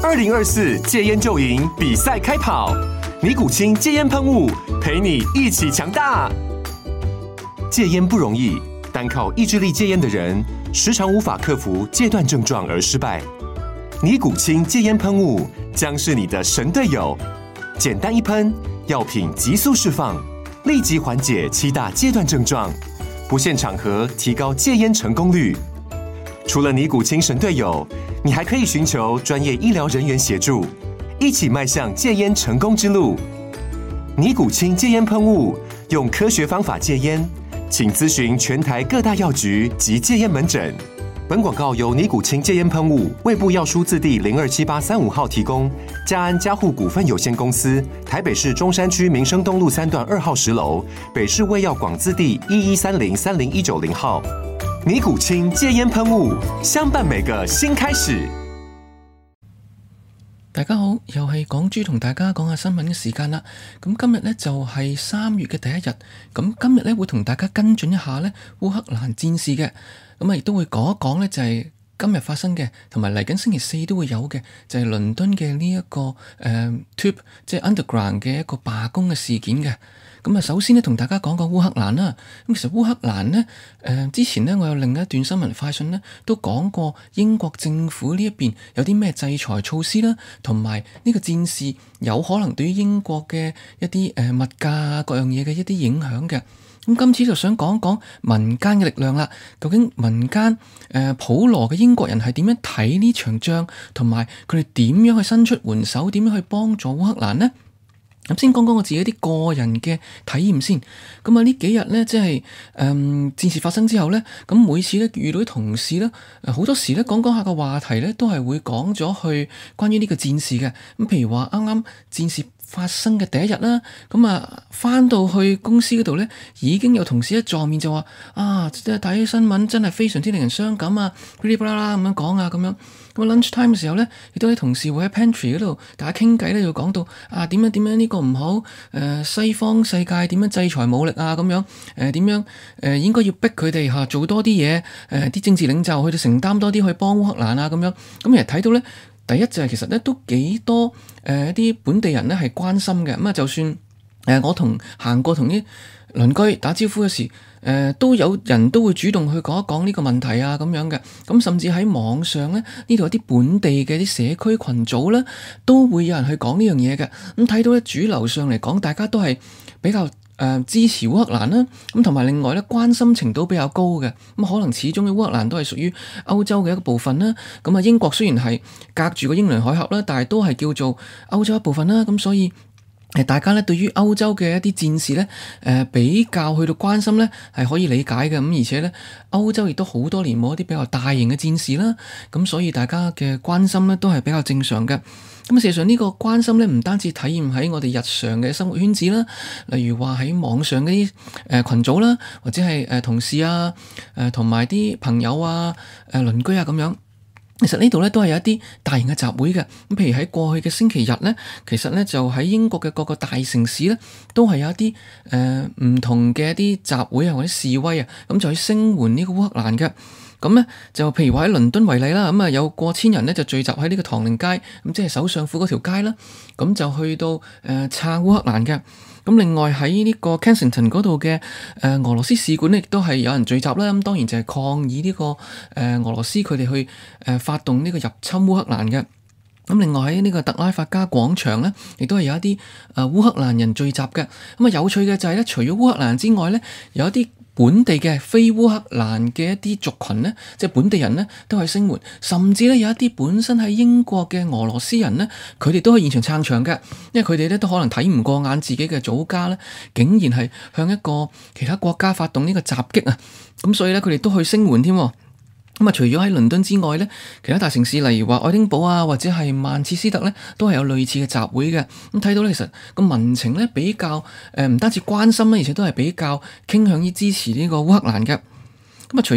2024戒菸就贏比賽開跑，尼古清戒菸噴霧陪你一起強大。戒菸不容易，單靠意志力戒菸的人，時常無法克服戒斷症狀而失敗。尼古清戒菸噴霧將是你的神隊友，簡單一噴，藥品急速釋放，立即緩解7大戒斷症狀，不限場合提高戒菸成功率。除了尼古清神隊友，你還可以尋求專業醫療人員協助，一起邁向戒菸成功之路。尼古清戒菸噴霧，用科學方法戒菸，請諮詢全台各大藥局及戒菸門診。本廣告由尼古清戒菸噴霧衛部藥書字第027835號提供，嘉安嘉護股份有限公司台北市中山區民生東路3段2號10樓，北市衛藥廣字第1130-30190號。尼古清戒菸噴霧，相伴每個新開始。 大家好，又係港豬同大家講下新聞嘅時間啦。咁今日呢就係3月嘅第一日，咁今日呢會同大家跟進一下呢烏克蘭戰事嘅，咁亦都會講一講呢就係今日發生嘅，同埋嚟緊星期4都會有嘅，就係倫敦嘅呢一個Tube 即係 Underground 嘅一個罷工嘅事件嘅。咁啊，首先呢，同大家講講烏克蘭啦。咁其實烏克蘭呢，之前呢，我有另一段新聞快訊呢，都講過英國政府呢一邊有啲咩制裁措施啦，同埋呢個戰事有可能對於英國嘅一啲物價各樣嘢嘅一啲影響嘅。咁今次就想講講民間嘅力量啦。究竟民間普羅嘅英國人係點樣睇呢場仗，同埋佢哋點樣去伸出援手，點樣去幫助烏克蘭呢？咁先講講我自己啲個人嘅體驗先。咁啊呢幾日呢，即係戰事發生之後呢，咁每次呢遇到啲同事呢，好多時呢講下個話題呢，都係會講咗去關於呢個戰事嘅。咁譬如話啱啱戰事發生嘅第一日啦，咁啊返到去公司嗰度呢，已經有同事一撞面就話啊，即係睇新聞真係非常之令人傷感啊，噼里啪啦咁樣講啊咁樣。咁 lunch time 嘅時候呢，亦都有啲同事會喺 pantry 嗰度大家傾偈呢，就講到啊點樣呢個唔好，西方世界點樣制裁武力啊咁樣，點樣應該要逼佢哋嚇做多啲嘢，啲政治領袖去到承擔多啲去幫烏克蘭啊咁樣。咁其實睇到呢，第一就係其實呢都幾多一啲本地人呢係關心嘅。咁啊就算我行過同啲鄰居打招呼嘅時，都有人都會主動去講一講呢個問題啊咁樣嘅。咁甚至喺網上呢，呢度有啲本地嘅啲社區群組呢，都會有人去講呢樣嘢嘅。咁睇到呢，主流上嚟講，大家都係比較支持烏克蘭啦。咁同埋另外呢，關心程度比較高嘅。咁可能始終嘅烏克蘭都係屬於歐洲嘅一個部分啦。咁啊英國雖然係隔住個英倫海峽啦，但係都係叫做歐洲一部分啦。咁所以大家咧對於歐洲嘅一啲戰事咧，比較去到關心咧，係可以理解嘅。咁而且咧，歐洲亦都好多年冇一啲比較大型嘅戰事啦，咁所以大家嘅關心咧都係比較正常嘅。咁事實上呢個關心咧，唔單止體現喺我哋日常嘅生活圈子啦，例如話喺網上嗰啲群組啦，或者係同事啊，同埋啲朋友啊、鄰居啊咁樣。其實呢度咧都係有一啲大型嘅集會嘅。咁譬如喺過去嘅星期日咧，其實咧就喺英國嘅各個大城市咧，都係有一啲唔同嘅一啲集會啊或者示威啊，咁就去聲援呢個烏克蘭嘅。咁咧就譬如話喺倫敦為例啦，咁啊有過千人咧就聚集喺呢個唐寧街，咁即係首相府嗰條街啦，咁就去到撐烏克蘭嘅。咁另外喺呢個 Kensington 嗰度嘅俄羅斯使館咧，亦都係有人聚集啦。咁當然就係抗議呢個俄羅斯佢哋去發動呢個入侵烏克蘭嘅。咁另外喺呢個特拉法加廣場咧，亦都係有一啲烏克蘭人聚集嘅。咁啊有趣嘅就係咧，除咗烏克蘭之外咧，有一啲本地嘅非烏克蘭嘅一啲族群呢，即係本地人呢，都係聲援，甚至呢，有一啲本身喺英國嘅俄羅斯人呢，佢哋都喺現場撐場嘅，因為佢哋呢都可能睇唔過眼自己嘅祖家呢，竟然係向一個其他國家發動呢個襲擊啊，咁所以呢，佢哋都去聲援添。咁啊，除咗喺倫敦之外呢，其他大城市例如話愛丁堡啊，或者係曼徹斯特呢，都係有類似嘅集會嘅。咁睇到呢，其實個民情呢比較唔單止關心啦，而且都係比較傾向於支持呢個烏克蘭嘅。咁啊，除咗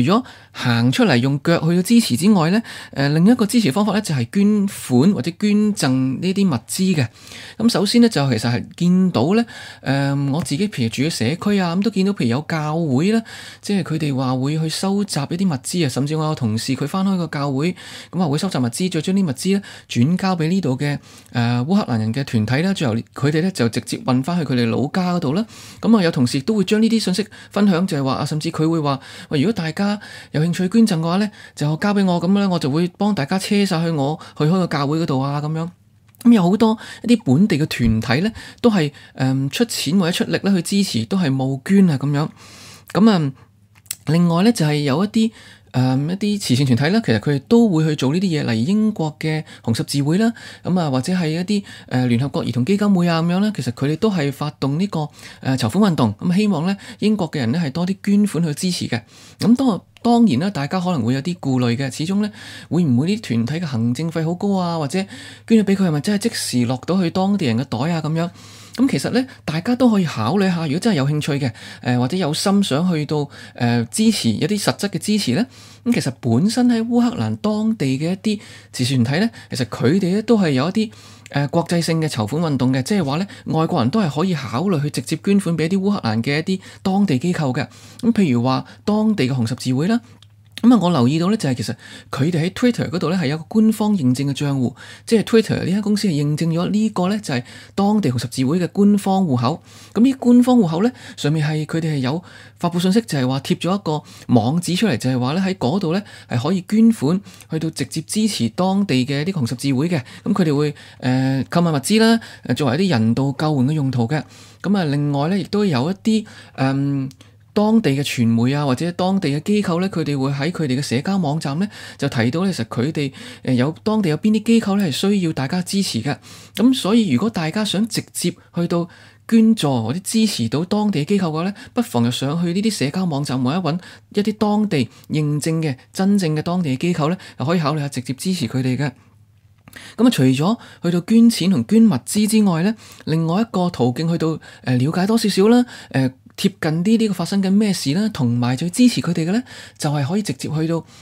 行出嚟用腳去到支持之外咧，另一個支持方法咧就係捐款或者捐贈呢啲物資嘅。咁首先咧就其實係見到咧，我自己譬如住喺社區啊，咁都見到譬如有教會啦，即係佢哋話會去收集一啲物資啊，甚至我有同事佢返開個教會，咁話會收集物資，再將啲物資咧轉交俾呢度嘅烏克蘭人嘅團體啦，最後佢哋咧就直接運返去佢哋老家嗰度啦。咁啊有同事都會將呢啲信息分享，就係話啊，甚至佢會話，喂，如果大家有興趣捐贈嘅話咧，就交俾我，咁咧我就會幫大家車晒去我去開個教會嗰度啊，咁樣。咁有好多一啲本地嘅團體咧，都係出錢或者出力咧去支持，都係募捐啊咁樣。咁另外咧就係有一啲慈善團體啦，其實佢哋都會去做呢啲嘢，例如英國嘅紅十字會啦，或者係一啲聯合國兒童基金會啊咁樣啦，其實佢哋都係發動呢個籌款運動，咁希望咧英國嘅人咧係多啲捐款去支持嘅。咁當然啦，大家可能會有啲顧慮嘅，始終咧會唔會啲團體嘅行政費好高啊，或者捐咗俾佢係咪真係即時落到去當地人嘅袋啊咁樣？咁其實咧，大家都可以考慮下，如果真係有興趣嘅，或者有心想去到支持一啲實質嘅支持咧，咁其實本身喺烏克蘭當地嘅一啲慈善團體咧，其實佢哋咧都係有一啲國際性嘅籌款運動嘅，即係話咧外國人都係可以考慮去直接捐款俾一啲烏克蘭嘅一啲當地機構嘅，咁譬如話當地嘅紅十字會啦。我留意到咧，就係其實佢哋喺 Twitter 嗰度咧係有個官方認證嘅賬戶，即係 Twitter 呢間公司係認證咗呢個咧就係當地紅十字會嘅官方戶口。咁呢官方戶口咧上面係佢哋係有發佈信息，就係話貼咗一個網址出嚟，就係話咧喺嗰度咧係可以捐款去到直接支持當地嘅啲紅十字會嘅。咁佢哋會購買物資啦，作為一啲人道救援嘅用途嘅。另外咧亦都有一啲當地嘅傳媒啊，或者當地嘅機構咧，佢哋會喺佢哋嘅社交網站咧，就提到咧，其實佢哋有當地有邊啲機構咧係需要大家支持嘅。咁所以如果大家想直接去到捐助或者支持到當地嘅機構嘅話咧，不妨就上去呢啲社交網站或者揾一啲當地認證嘅真正嘅當地嘅機構咧，就可以考慮下直接支持佢哋嘅。除咗去到捐錢同捐物資之外咧，另外一個途徑去到了解多少少啦，貼近啲呢個發生緊咩事啦，同埋再支持佢哋嘅咧，就係可以直接去到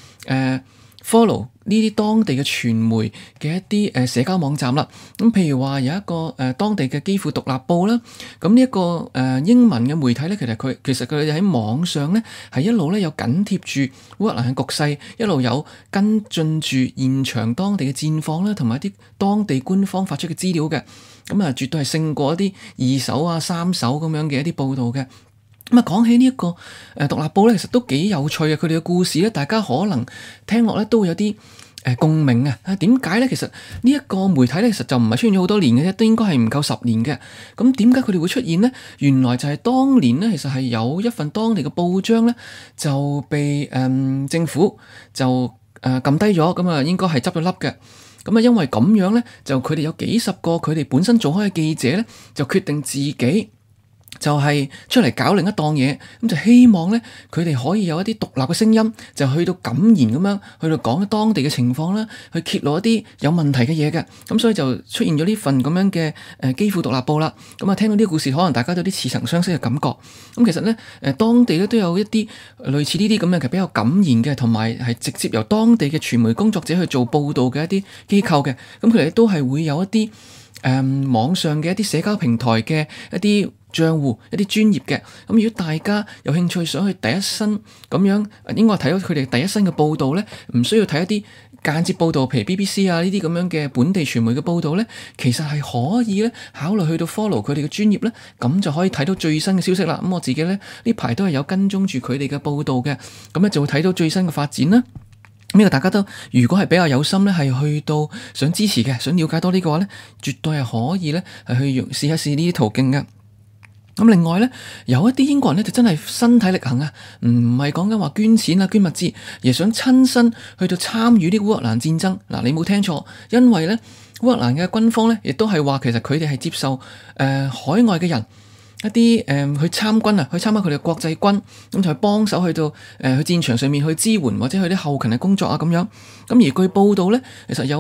follow 呢啲當地嘅傳媒嘅一啲社交網站啦。咁譬如話有一個當地嘅基輔獨立報啦，咁呢一個英文嘅媒體咧，其實佢哋喺網上咧係一路咧有緊貼住烏克蘭嘅局勢，一路有跟進住現場當地嘅戰況啦，同埋一啲當地官方發出嘅資料嘅。絕對係勝過一啲二手啊、三手咁樣嘅一啲報導嘅。講起呢一個獨立報咧，其實都幾有趣嘅。佢哋嘅故事咧，大家可能聽落咧都會有啲共鳴啊。點解咧？其實呢一個媒體咧，其實就唔係出現咗好多年嘅啫，都應該係唔夠10年嘅。咁點解佢哋會出現呢？原來就係當年咧，其實係有一份當地嘅報章咧，就被政府就撳低咗，咁應該係執咗笠嘅。因為咁樣咧，就佢哋有幾十個佢哋本身做開嘅記者咧，就決定自己就係出嚟搞另一檔嘢，咁就希望咧佢哋可以有一啲獨立嘅聲音，就去到敢言咁樣去到講當地嘅情況啦，去揭露一啲有問題嘅嘢嘅。咁所以就出現咗呢份咁樣嘅基輔獨立報啦。咁聽到呢個故事，可能大家都有啲似曾相識嘅感覺。咁其實咧當地咧都有一啲類似呢啲咁樣嘅比較敢言嘅，同埋係直接由當地嘅傳媒工作者去做報導嘅一啲機構嘅。咁佢哋都係會有一啲網上嘅一啲社交平台嘅一啲賬戶，一啲專業嘅。咁如果大家有興趣想去第一身咁樣，應該睇到佢哋第一身嘅報導咧，唔需要睇一啲間接報導，譬如 BBC 啊呢啲咁樣嘅本地傳媒嘅報導咧，其實係可以咧考慮去到 follow 佢哋嘅專業咧，咁就可以睇到最新嘅消息啦。咁我自己咧呢排都係有跟蹤住佢哋嘅報導嘅，咁咧就會睇到最新嘅發展啦。呢個大家都如果係比較有心咧，係去到想支持嘅，想了解多啲嘅話咧，絕對係可以咧係去試一試呢啲途徑嘅。咁另外咧，有一啲英國人咧就真係身體力行啊，唔係講緊話捐錢啊、捐物資，而係想親身去到參與啲烏克蘭戰爭。嗱，你冇聽錯，因為咧烏克蘭嘅軍方咧亦都係話，其實佢哋係接受海外嘅人一啲去參軍啊，去參加佢哋嘅國際軍，咁就去幫手去到去戰場上面去支援或者去啲後勤嘅工作啊咁樣。咁而據報道咧，其實有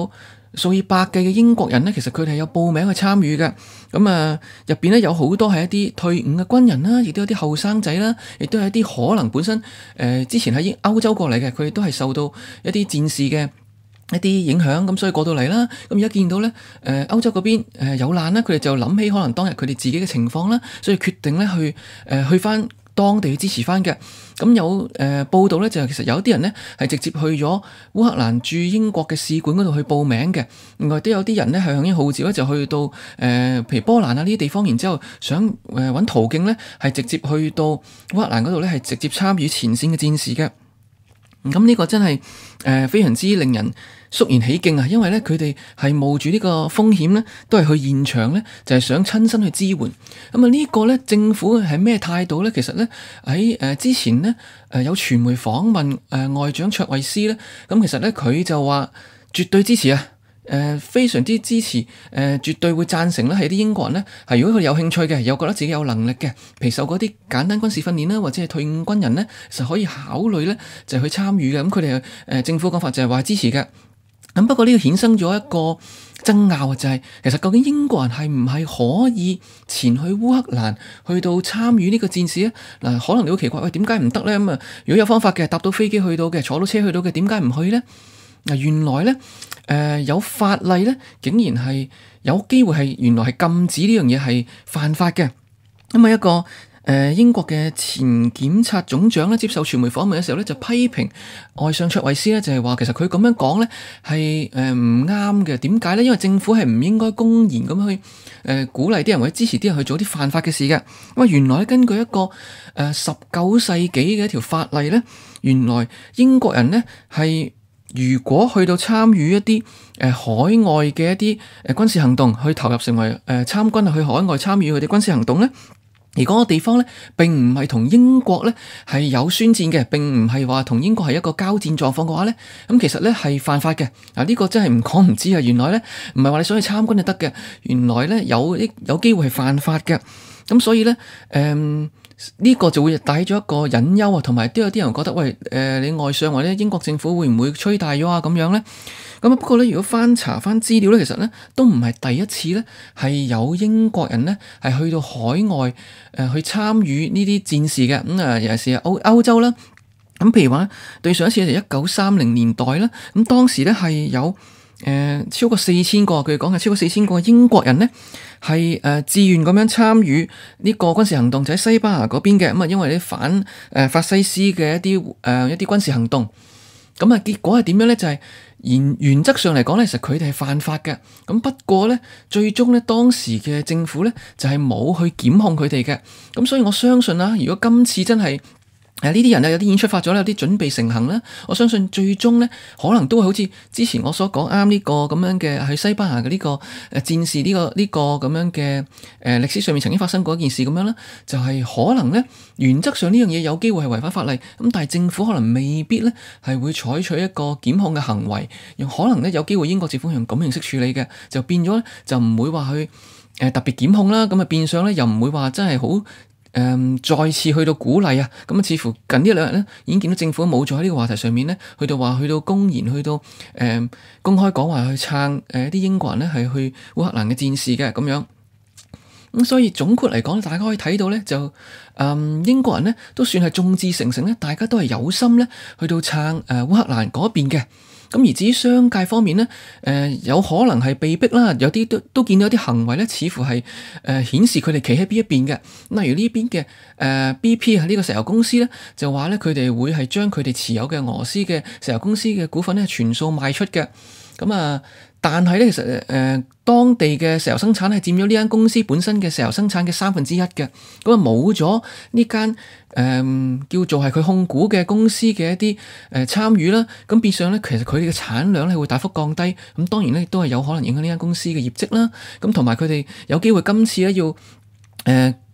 數以百計嘅英國人咧，其實佢哋係有報名去參與嘅。咁啊，入邊咧有好多係一啲退伍嘅軍人啦，亦都有啲後生仔啦，亦都有一啲可能本身之前喺歐洲過嚟嘅，佢哋都係受到一啲戰事嘅一啲影響，咁所以過到嚟啦。咁而家見到咧，歐洲嗰邊有難啦，佢哋就諗起可能當日佢哋自己嘅情況啦，所以決定咧去翻當地去支持翻嘅。咁有報道咧，就係其實有啲人咧係直接去咗烏克蘭駐英國嘅使館嗰度去報名嘅。另外都有啲人咧係向應號召咧，就去到譬如波蘭啊呢啲地方，然之後想揾途徑咧係直接去到烏克蘭嗰度咧係直接參與前線嘅戰事嘅。咁呢個真係非常之令人肅然起敬啊！因為咧佢哋係冒住呢個風險咧，都係去現場咧，就係想親身去支援。咁啊呢個咧政府係咩態度咧？其實咧喺之前咧有傳媒訪問外長卓慧思咧，咁其實咧佢就話絕對支持啊！非常之支持，絕對會贊成咧，係啲英國人咧，係如果佢有興趣嘅，又覺得自己有能力嘅，譬如受嗰啲簡單軍事訓練啦，或者係退伍軍人咧，其實可以考慮咧，就係去參與嘅。咁佢哋政府講法就係話支持嘅。咁不過呢個衍生咗一個爭拗，就係其實究竟英國人係唔係可以前去烏克蘭去到參與呢個戰事咧？嗱，可能你會奇怪，喂，點解唔得咧？咁啊，如果有方法嘅，搭到飛機去到嘅，坐到車去到嘅，點解唔去咧？嗱，原來咧，有法例咧，竟然係有機會係原來係禁止呢樣嘢係犯法嘅。咁啊，一個英國嘅前檢察總長咧，接受傳媒訪問嘅時候咧，就批評外相卓慧思咧，就係話其實佢咁樣講咧係唔啱嘅。點解咧？因為政府係唔應該公然咁去鼓勵啲人或者支持啲人去做啲犯法嘅事嘅。咁啊，原來根據一個19世紀嘅一條法例咧，原來英國人咧係如果去到參與一啲海外嘅一啲軍事行動，去投入成為參軍去海外參與佢哋軍事行動咧，而嗰個地方咧並唔係同英國咧係有宣戰嘅，並唔係話同英國係一個交戰狀況嘅話咧，咁其實咧係犯法嘅。嗱，呢個真係唔講唔知啊！原來咧唔係話你想去參軍就得嘅，原來咧有機會係犯法嘅。咁所以咧呢個就會帶咗一個隱憂啊，同埋都有啲人覺得，喂，你外相或者英國政府會唔會吹大咗啊？咁樣咧，咁啊不過咧，如果翻查翻資料咧，其實咧都唔係第一次咧，係有英國人咧係去到海外去參與呢啲戰事嘅。咁啊，尤其是歐洲啦，咁譬如話對上一次係1930年代啦，咁當時咧係有超過4000個，佢哋講係超過4000個英國人咧。係自願咁樣參與呢個軍事行動，就喺西班牙嗰邊嘅。咁啊，因為啲反法西斯嘅一啲軍事行動，咁啊結果係點樣咧？就係原則上嚟講咧，其實佢哋係犯法嘅。咁不過咧，最終咧當時嘅政府咧就係冇去檢控佢哋嘅。咁所以我相信啦，如果今次真係呢啲人有啲已經出發咗，有啲準備成行啦。我相信最終咧，可能都會好似之前我所講啱呢個咁樣嘅喺西班牙嘅呢個戰事呢個咁樣嘅歷史上面曾經發生過一件事咁樣啦，就係可能咧原則上呢樣嘢有機會係違反法例，咁但係政府可能未必咧係會採取一個檢控嘅行為，用可能咧有機會英國政府用咁形式處理嘅，就變咗咧就唔會話去特別檢控啦，咁啊變相咧又唔會話真係好。再次去到鼓勵啊，咁啊似乎近呢兩日咧，已經見到政府冇咗喺呢個話題上面咧，去到公然去到公開講話去撐啲英國人咧係去烏克蘭嘅戰事嘅咁樣。咁所以總括嚟講，大家可以睇到咧，就英國人咧都算係眾志成城咧，大家都係有心咧去到撐烏克蘭嗰邊嘅。咁而至於商界方面咧，有可能係被逼啦，有啲都見到一啲行為咧，似乎係顯示佢哋企喺邊一邊嘅。例如呢邊嘅BP 呢個石油公司咧，就話咧佢哋會係將佢哋持有嘅俄羅斯嘅石油公司嘅股份咧全數賣出嘅。咁啊，但係咧其實當地嘅石油生產係佔咗呢間公司本身嘅石油生產嘅1/3嘅。咁啊冇咗呢間叫做係佢控股嘅公司嘅一啲參與啦，咁變相咧其實佢哋嘅產量咧會大幅降低，咁當然咧都係有可能影響呢間公司嘅業績啦。咁同埋佢哋有機會今次咧要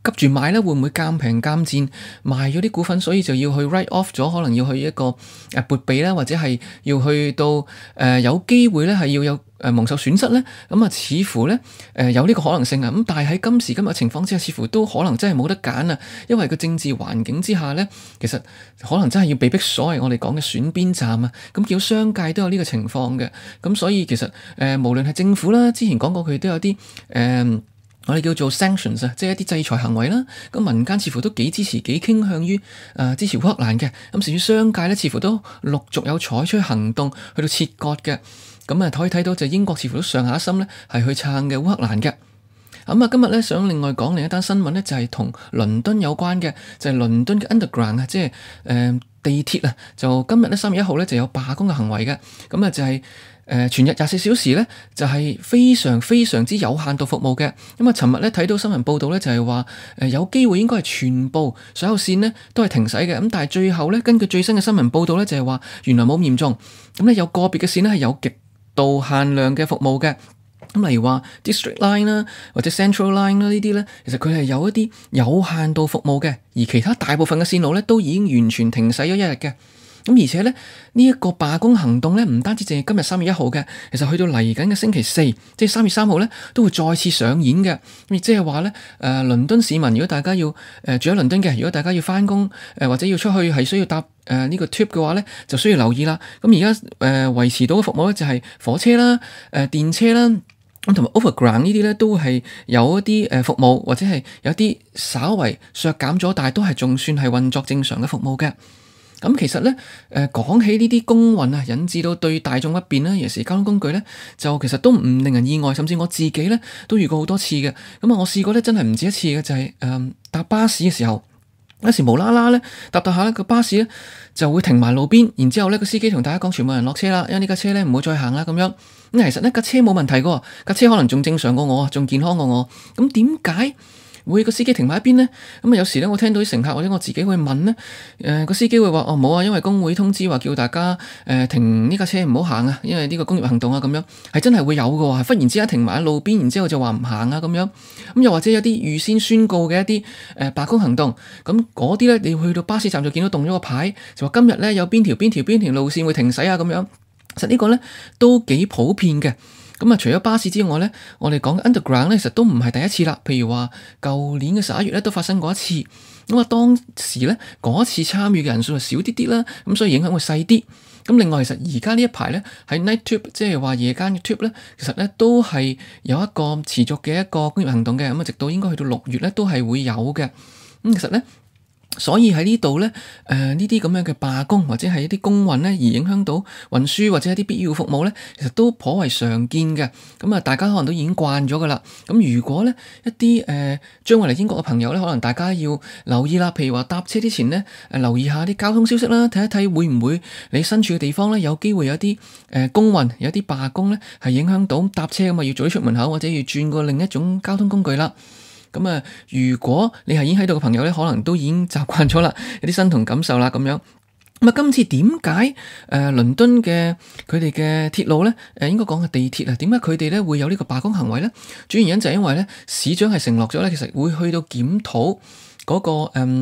急住買咧，會唔會賤平賤賤賣咗啲股份，所以就要去 write off 咗，可能要去一個撥備啦，或者係要去到有機會咧係要有蒙受損失咧，咁啊似乎咧有呢個可能性啊，咁但係喺今時今日情況之下，似乎都可能真係冇得揀啊，因為個政治環境之下咧，其實可能真係要被逼所謂我哋講嘅選邊站啊，咁叫商界都有呢個情況嘅，咁所以其實無論係政府啦，之前講過佢都有啲我哋叫做 sanctions 啊，即係一啲制裁行為啦。咁民間似乎都幾支持、幾傾向於支持烏克蘭嘅。咁甚至商界咧，似乎都陸續有採取行動去到切割嘅。咁可以睇到就英國似乎都上下一心咧，係去撐嘅烏克蘭嘅。咁今日咧想另外講另一單新聞咧，就係同倫敦有關嘅，就係倫敦嘅 Underground 啊，即係地鐵啊，就今日咧3月1號咧就有罷工嘅行為嘅。咁就係全日24小時咧，就係非常非常之有限度服務嘅。咁尋日咧睇到新聞報道咧，就係話有機會應該係全部所有線咧都係停駛嘅。咁但係最後咧，根據最新嘅新聞報道咧，就係話原來冇咁嚴重。咁咧有個別嘅線咧係有極度限量嘅服務嘅。咁例如話 District Line 啦，或者 Central Line 啦，呢啲咧，其實佢係有一啲有限度服務嘅，而其他大部分嘅線路咧都已經完全停駛咗一日嘅。咁而且咧呢一個罷工行動咧，唔單止淨係今日3月1號嘅，其實去到嚟緊嘅星期四，即係3月3號咧，都會再次上演嘅。咁亦即係話咧，倫敦市民如果大家要住喺倫敦嘅，如果大家要返工或者要出去係需要搭呢個 tube 嘅話咧，就需要留意啦。咁而家維持到嘅服務咧就係火車啦、電車啦。咁同埋 Overground 呢啲咧都係有一啲服務，或者係有一啲稍為削減咗，但係都係仲算係運作正常嘅服務嘅。咁其實咧講起呢啲工運啊，引致到對大眾不便啦，尤其是交通工具咧，就其實都唔令人意外，甚至我自己咧都遇過好多次嘅。咁我試過咧真係唔止一次嘅，就係搭巴士嘅時候。有時無啦啦咧，搭下咧個巴士咧就會停埋路邊，然之後咧個司機同大家講全部人落車啦，因為呢架車咧唔好再行啦咁樣。咁其實呢架車冇問題㗎，架車可能仲正常過我，仲健康過我。咁點解會個司機停埋一邊呢？咁有時咧我聽到啲乘客或者我自己會問咧，個司機會話冇啊，因為工會通知話叫大家停呢架車唔好行啊，因為呢個工業行動啊咁樣，係真係會有㗎，係忽然之間停埋喺路邊，然之後就話唔行啊咁樣。咁又或者有啲預先宣告嘅一啲罷工行動，咁嗰啲咧你去到巴士站就見到動咗個牌，就話今日咧有邊條路線會停駛啊咁樣。其實呢個咧都幾普遍嘅。咁除咗巴士之外咧，我哋講 Underground 咧，其實都唔係第一次啦。譬如話舊年嘅11月咧，都發生過一次。咁當時咧嗰一次參與嘅人數就少啲啲啦，咁所以影響會細啲。咁另外其實而家呢一排咧喺 Night Tube， 即係話夜間嘅 Tube 咧，其實咧都係有一個持續嘅一個工業行動嘅。咁直到應該去到6月咧都係會有嘅。咁其實咧。所以喺呢度咧，呢啲咁樣嘅罷工或者係一啲工運咧，而影響到運輸或者一啲必要服務咧，其實都頗為常見嘅。咁大家可能都已經慣咗噶啦。咁如果咧一啲將會嚟英國嘅朋友咧，可能大家要留意啦。譬如話搭車之前咧，留意下啲交通消息啦，睇一睇會唔會你身處嘅地方咧有機會有啲工運，有啲罷工咧係影響到搭車咁啊，要早啲出門口或者要轉過另一種交通工具啦。咁如果你係已經喺度嘅朋友咧，可能都已經習慣咗啦，有啲身同感受啦咁樣。咁今次點解倫敦嘅佢哋嘅鐵路咧，應該講係地鐵啊，點解佢哋咧會有呢個罷工行為咧？主要原因就係因為咧，市長係承諾咗咧，其實會去到檢討嗰個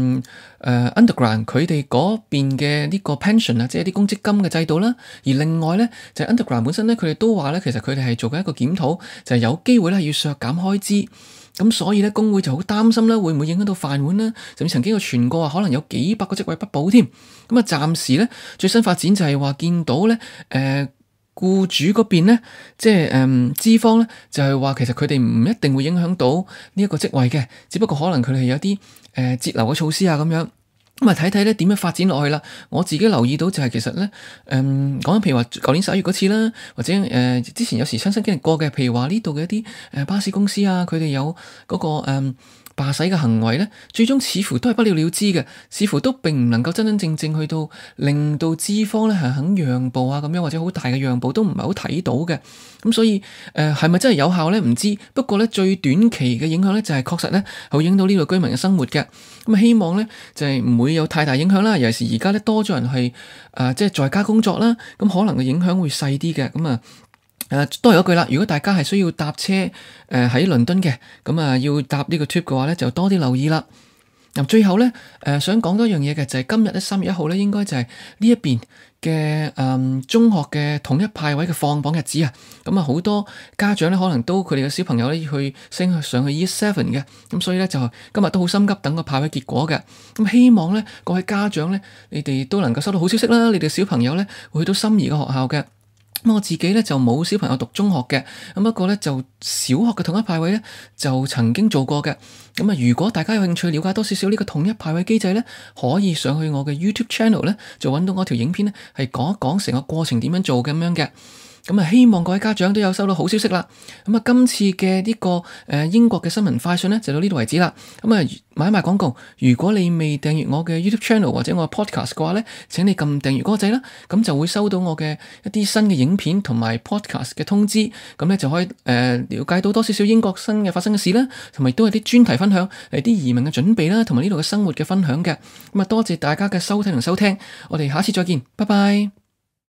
Underground 佢哋嗰邊嘅呢個 pension 啊，即係啲公積金嘅制度啦。而另外咧，就係 Underground 本身咧，佢哋都話咧，其實佢哋係做緊一個檢討，就係有機會咧要削減開支。咁所以咧，工會就好擔心啦，會唔會影響到飯碗啦？甚至曾經有傳過話，可能有幾百個職位不保添。咁暫時咧最新發展就係話見到咧，僱主嗰邊咧，即係資方咧，就係話其實佢哋唔一定會影響到呢一個職位嘅，只不過可能佢哋有啲節流嘅措施啊咁樣。咁睇睇咧點樣發展落去啦。我自己留意到就係其實咧，講緊譬如話舊年11月嗰次啦，或者之前有時親身經歷過嘅，譬如話呢度嘅一啲巴士公司啊，佢哋有嗰個罷駛嘅行為咧，最終似乎都係不了了之嘅，似乎都並唔能夠真真正正去到令到資方咧係肯讓步啊咁樣，或者好大嘅讓步都唔係好睇到嘅。咁所以係咪真係有效咧？唔知。不過咧最短期嘅影響咧就係確實咧會影響到呢度居民嘅生活嘅。咁希望咧就係唔會有太大影響啦。尤其是而家咧多咗人係即係在家工作啦，咁可能嘅影響會細啲嘅。咁都係嗰句啦，如果大家係需要搭車喺倫敦嘅，咁要搭呢個 tube 嘅話咧，就多啲留意啦。最後咧，想講多一樣嘢嘅就係今日咧3月1號咧，應該就係呢一邊嘅中學嘅統一派位嘅放榜日子啊。咁好多家長咧可能都佢哋嘅小朋友咧去升上去 Year 7嘅，咁所以咧就今日都好心急等個派位結果嘅。咁希望咧各位家長咧，你哋都能夠收到好消息啦，你哋小朋友咧會去到心儀嘅學校嘅。咁我自己咧就冇小朋友讀中學嘅，咁不過咧就小學嘅統一派位咧就曾經做過嘅。咁如果大家有興趣了解多少少呢個統一派位機制咧，可以上去我嘅 YouTube channel 咧，就揾到我條影片咧，係講一講成個過程點樣做咁樣嘅。咁希望各位家長都有收到好消息啦。咁今次嘅呢個英國嘅新聞快訊咧就到呢度為止啦。咁買賣廣告，如果你未訂閱我嘅 YouTube channel 或者我嘅 podcast 嘅話咧，請你撳訂閱嗰個掣啦，咁就會收到我嘅一啲新嘅影片同埋 podcast 嘅通知，咁咧就可以了解到多少少英國新嘅發生嘅事啦，同埋都係啲專題分享，啲移民嘅準備啦，同埋呢度嘅生活嘅分享嘅。咁多謝大家嘅收睇同收聽，我哋下次再見，拜拜。